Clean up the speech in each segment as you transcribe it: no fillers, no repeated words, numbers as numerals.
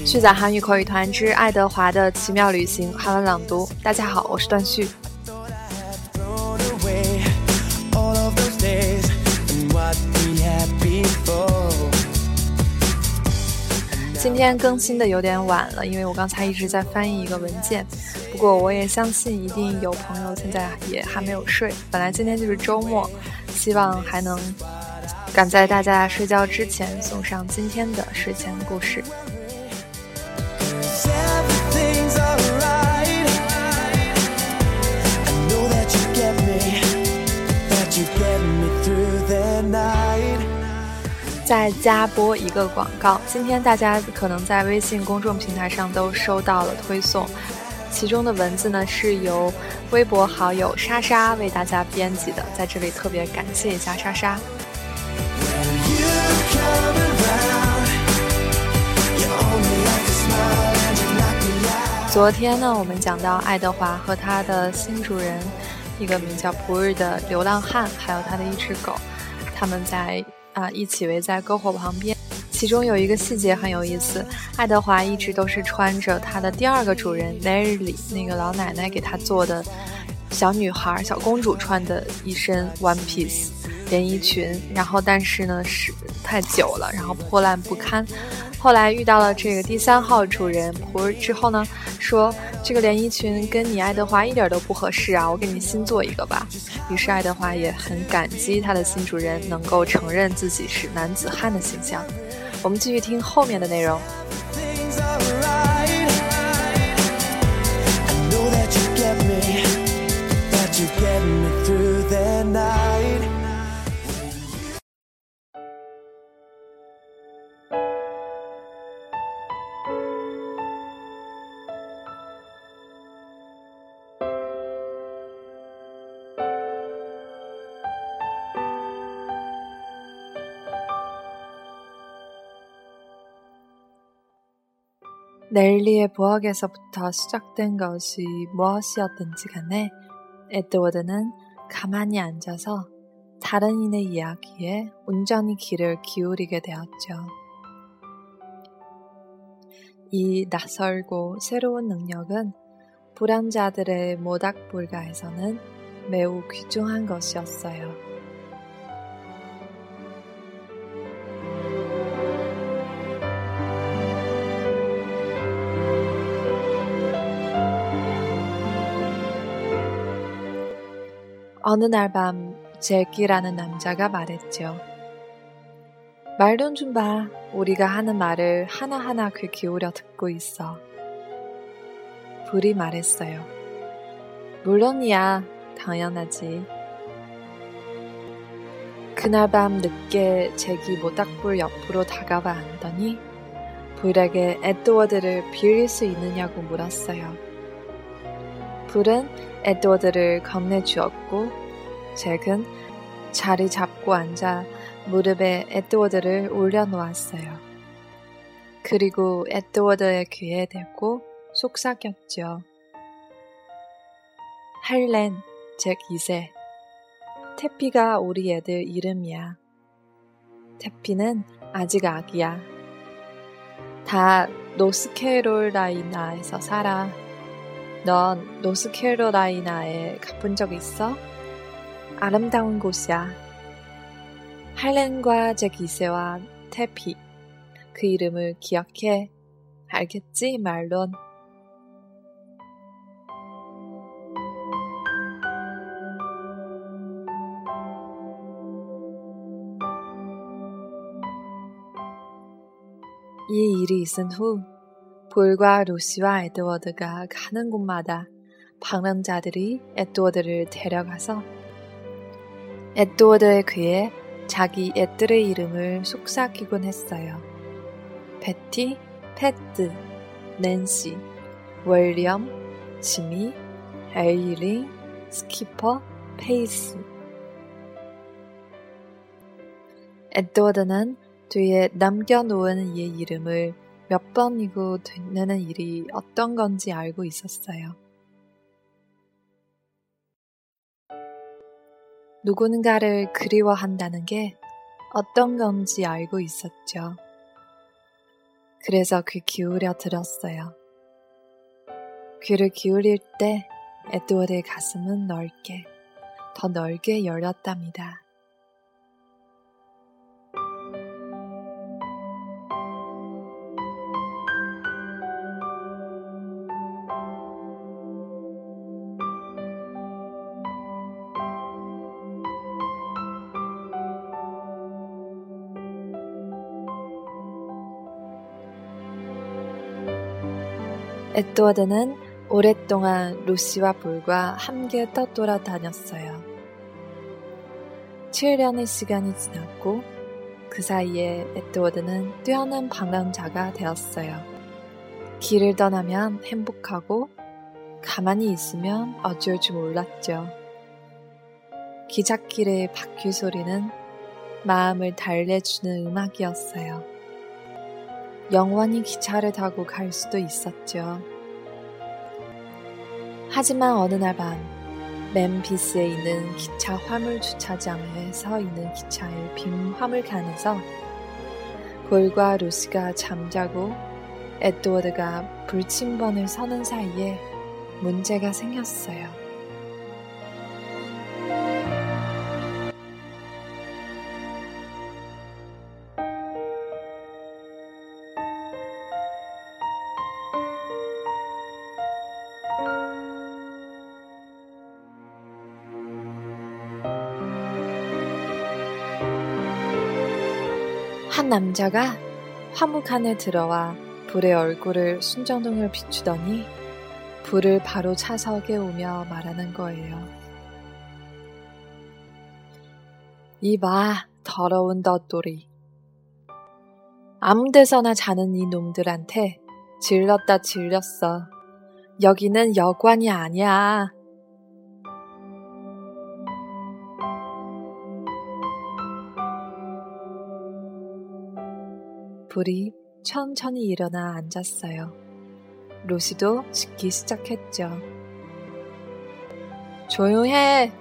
续载韩语口语团之爱德华的奇妙旅行韩文朗读。大家好，我是段旭。今天更新的有点晚了，因为我刚才一直在翻译一个文件。不过我也相信一定有朋友现在也还没有睡。本来今天就是周末，希望还能赶在大家睡觉之前送上今天的睡前故事。再加播一个广告，今天大家可能在微信公众平台上都收到了推送，其中的文字呢是由微博好友莎莎为大家编辑的，在这里特别感谢一下莎莎。昨天呢，我们讲到爱德华和他的新主人，一个名叫普日的流浪汉，还有他的一只狗，他们在一起围在篝火旁边。其中有一个细节很有意思，爱德华一直都是穿着他的第二个主人 Larry 那个老奶奶给他做的小女孩小公主穿的一身 one piece 连衣裙，然后但是呢是太久了，然后破烂不堪。后来遇到了这个第三号主人普日之后呢，说这个连衣裙跟你爱德华一点都不合适啊，我给你新做一个吧。于是爱德华也很感激他的新主人能够承认自己是男子汉的形象。我们继续听后面的内容。넬리의 부엌에서부터 시작된 것이 무엇이었든지 간에 에드워드는 가만히 앉아서 다른 이의 이야기에 온전히 귀를 기울이게 되었죠. 이 낯설고 새로운 능력은 불황자들의 모닥불가에서는 매우 귀중한 것이었어요. 어느 날 밤 잭이라는 남자가 말했죠. 말 좀 봐. 우리가 하는 말을 하나하나 귀 기울여 듣고 있어. 불이 말했어요. 물론이야. 당연하지. 그날 밤 늦게 잭이 모닥불 옆으로 다가와 앉더니 불에게 에드워드를 빌릴 수 있느냐고 물었어요. 불은 에드워드를 건네주었고 잭은 자리 잡고 앉아 무릎에 에드워드를 올려놓았어요. 그리고 에드워드의 귀에 대고 속삭였죠. 할렌, 잭 2세. 태피가 우리 애들 이름이야. 태피는 아직 아기야. 다 노스캐롤라이나에서 살아. 넌 노스캐롤라이나에 가본 적 있어? 아름다운 곳이야. 할렌과 잭 2세와 태피. 그 이름을 기억해. 알겠지, 말론? 이 일이 있은 후 볼과 루시와 에드워드가 가는 곳마다 방랑자들이 에드워드를 데려가서 에드워드의 귀에 자기 애들의 이름을 속삭이곤 했어요. 베티, 패드, 낸시, 윌리엄, 지미, 에일린, 스키퍼, 페이스. 에드워드는 뒤에 남겨놓은 이의 이름을 몇 번이고 되뇌는 일이 어떤 건지 알고 있었어요. 누군가를 그리워한다는 게 어떤 건지 알고 있었죠. 그래서 귀 기울여 들었어요. 귀를 기울일 때 에드워드의 가슴은 더 넓게 열렸답니다. 에드워드는 오랫동안 루시와 불과 함께 떠돌아다녔어요. 7년의 시간이 지났고 그 사이에 에드워드는 뛰어난 방랑자가 되었어요. 길을 떠나면 행복하고 가만히 있으면 어쩔 줄 몰랐죠. 기찻길의 바퀴 소리는 마음을 달래주는 음악이었어요. 영원히 기차를 타고 갈 수도 있었죠. 하지만 어느 날 밤 멤피스에 있는 기차 화물 주차장에 서 있는 기차의 빈 화물칸에서 볼과 루시가 잠자고 에드워드가 불침번을 서는 사이에 문제가 생겼어요. 한 남자가 화물칸에 들어와 불의 얼굴을 순정등을 비추더니 불을 바로 차서 깨우며 말하는 거예요. 이봐, 더러운 덧돌이. 아무 데서나 자는 이 놈들한테 질렀다 질렸어. 여기는 여관이 아니야. 불이 천천히 일어나 앉았어요. 루시도 짖기 시작했죠. 조용해!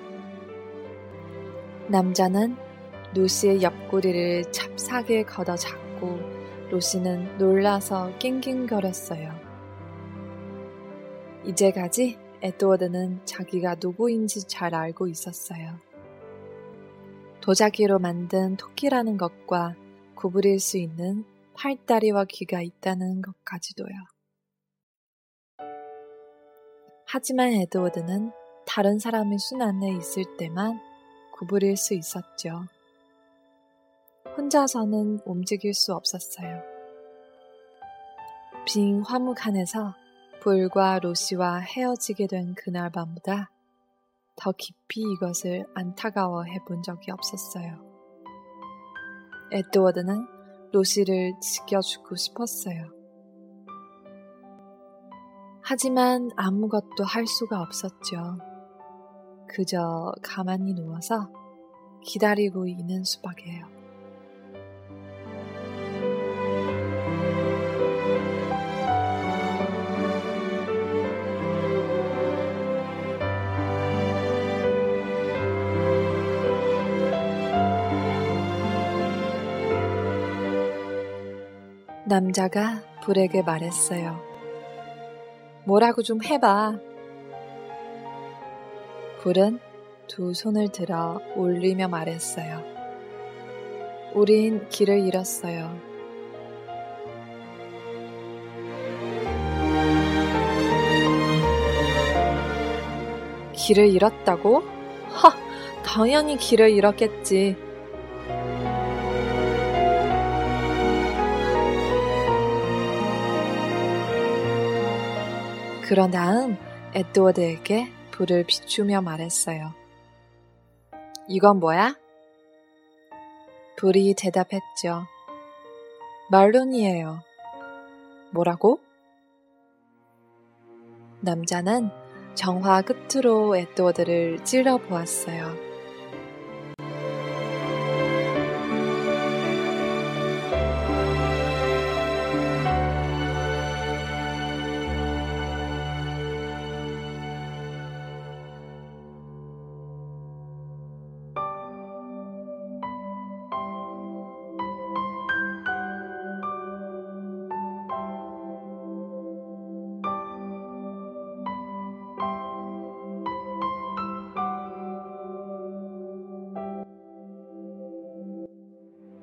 남자는 루시의 옆구리를 찹싸게 걷어 잡고 루시는 놀라서 낑낑거렸어요. 이제까지 에드워드는 자기가 누구인지 잘 알고 있었어요. 도자기로 만든 토끼라는 것과 구부릴 수 있는 팔다리와 귀가 있다는 것까지도요. 하지만 에드워드는 다른 사람의 손 안에 있을 때만 구부릴 수 있었죠. 혼자서는 움직일 수 없었어요. 빈 화물칸에서 불과 루시와 헤어지게 된 그날 밤보다 더 깊이 이것을 안타까워해 본 적이 없었어요. 에드워드는 루시를 지켜주고 싶었어요. 하지만 아무것도 할 수가 없었죠. 그저 가만히 누워서 기다리고 있는 수밖에요. 남자가 불에게 말했어요. 뭐라고 좀 해봐. 불은 두 손을 들어 올리며 말했어요. 우린 길을 잃었어요. 길을 잃었다고? 당연히 길을 잃었겠지. 그런 다음 에드워드에게 불을 비추며 말했어요. 이건 뭐야? 불이 대답했죠. 말론이에요. 뭐라고? 남자는 정화 끝으로 에드워드를 찔러보았어요.